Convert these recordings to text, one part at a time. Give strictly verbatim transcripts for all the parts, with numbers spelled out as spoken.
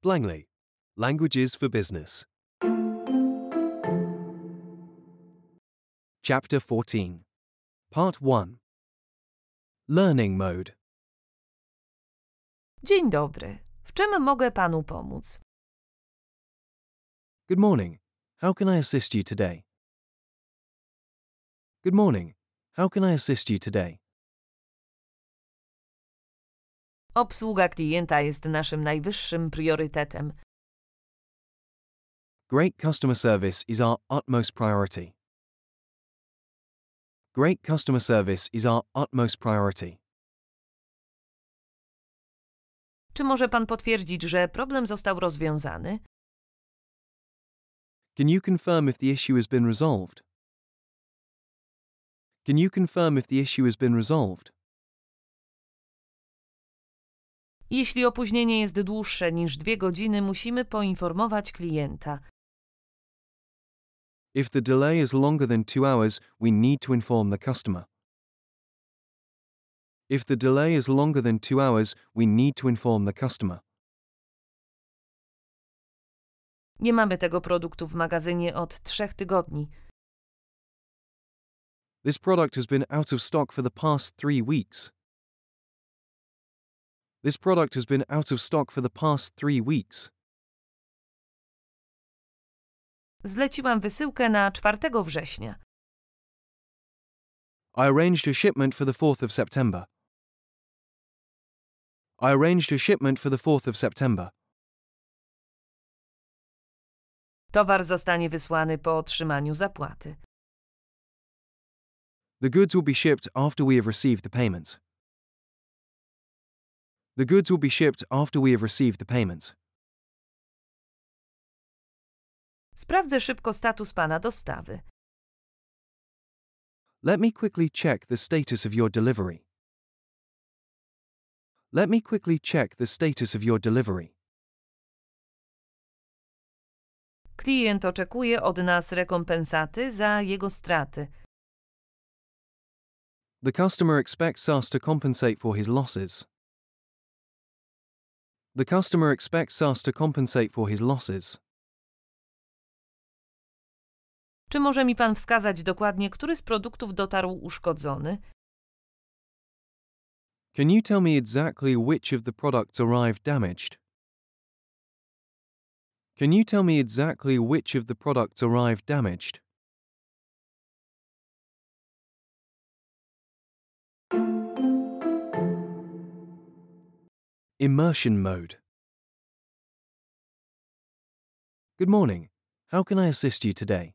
Langley. Languages for Business. Chapter fourteen. Part one. Learning Mode. Dzień dobry. W czym mogę panu pomóc? Good morning. How can I assist you today? Good morning. How can I assist you today? Obsługa klienta jest naszym najwyższym priorytetem. Great customer service is our utmost priority. Great customer service is our utmost priority. Czy może pan potwierdzić, że problem został rozwiązany? Can you confirm if the issue has been resolved? Can you confirm if the issue has been resolved? Jeśli opóźnienie jest dłuższe niż dwie godziny, musimy poinformować klienta. If the delay is longer than two hours, we need to inform the customer. If the delay is longer than two hours, we need to inform the customer. Nie mamy tego produktu w magazynie od trzech tygodni. This product has been out of stock for the past three weeks. This product has been out of stock for the past three weeks. Zleciłam wysyłkę na czwartego września. I arranged a shipment for the fourth of September. I arranged a shipment for the fourth of September. Towar zostanie wysłany po otrzymaniu zapłaty. The goods will be shipped after we have received the payments. The goods will be shipped after we have received the payments. Sprawdzę szybko status pana dostawy. Let me quickly check the status of your delivery. Let me quickly check the status of your delivery. Klient oczekuje od nas rekompensaty za jego straty. The customer expects us to compensate for his losses. The customer expects us to compensate for his losses. Czy może mi pan wskazać dokładnie, który z produktów dotarł uszkodzony? Can you tell me exactly which of the products arrived damaged? Can you tell me exactly which of the products arrived damaged? Immersion mode. Good morning. How can I assist you today?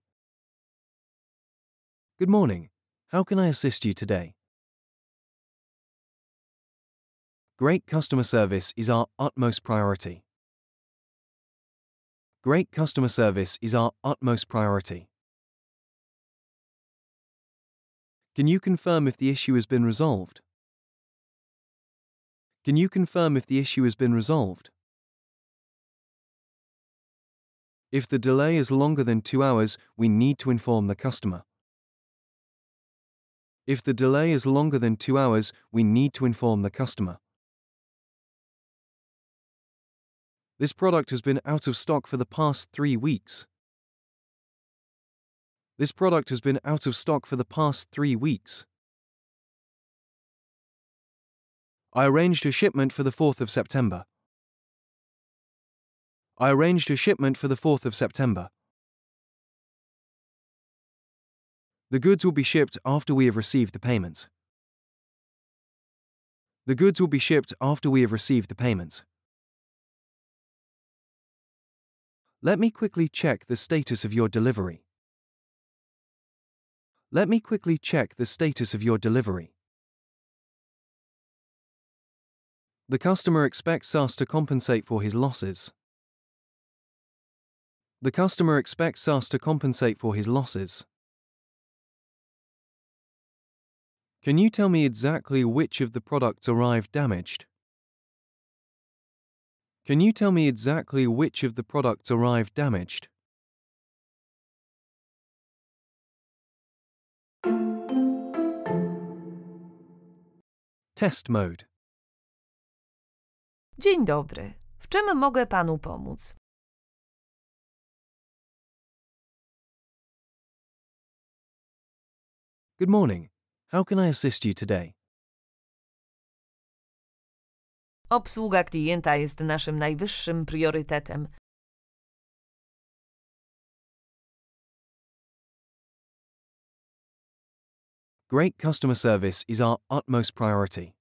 Good morning. How can I assist you today? Great customer service is our utmost priority. Great customer service is our utmost priority. Can you confirm if the issue has been resolved? Can you confirm if the issue has been resolved? If the delay is longer than two hours, we need to inform the customer. If the delay is longer than two hours, we need to inform the customer. This product has been out of stock for the past three weeks. This product has been out of stock for the past three weeks. I arranged a shipment for the fourth of September. I arranged a shipment for the fourth of September. The goods will be shipped after we have received the payments. The goods will be shipped after we have received the payments. Let me quickly check the status of your delivery. Let me quickly check the status of your delivery. The customer expects us to compensate for his losses. The customer expects us to compensate for his losses. Can you tell me exactly which of the products arrived damaged? Can you tell me exactly which of the products arrived damaged? Test mode. Dzień dobry. W czym mogę panu pomóc? Good morning. How can I assist you today? Obsługa klienta jest naszym najwyższym priorytetem. Great customer service is our utmost priority.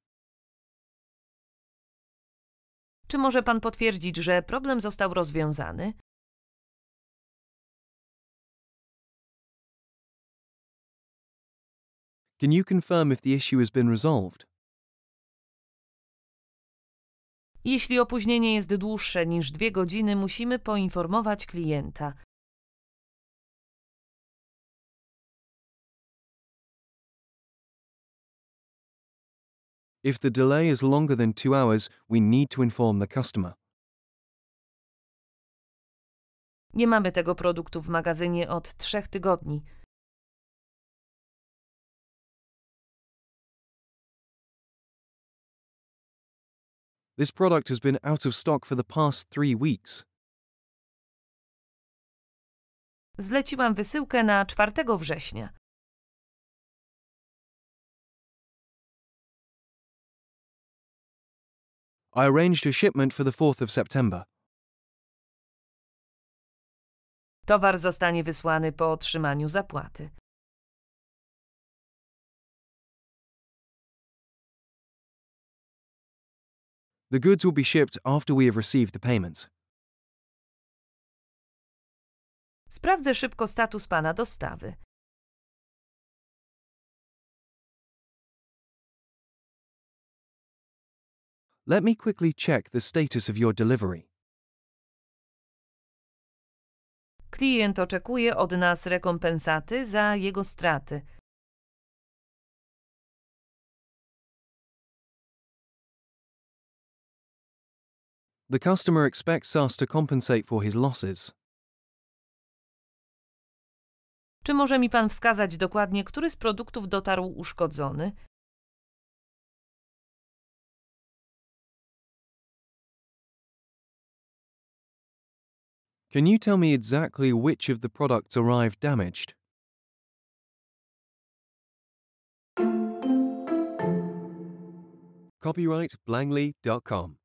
Czy może pan potwierdzić, że problem został rozwiązany? Can you confirm if the issue has been resolved? Jeśli opóźnienie jest dłuższe niż dwie godziny, musimy poinformować klienta. If the delay is longer than two hours, we need to inform the customer. Nie mamy tego produktu w magazynie od trzech tygodni. This product has been out of stock for the past three weeks. Zleciłam wysyłkę na czwartego września. I arranged a shipment for the fourth of September. Towar zostanie wysłany po otrzymaniu zapłaty. The goods will be shipped after we have received the payments. Sprawdzę szybko status pana dostawy. Let me quickly check the status of your delivery. Klient oczekuje od nas rekompensaty za jego straty. The customer expects us to compensate for his losses. Czy może mi pan wskazać dokładnie, który z produktów dotarł uszkodzony? Can you tell me exactly which of the products arrived damaged? Copyright Blangley dot com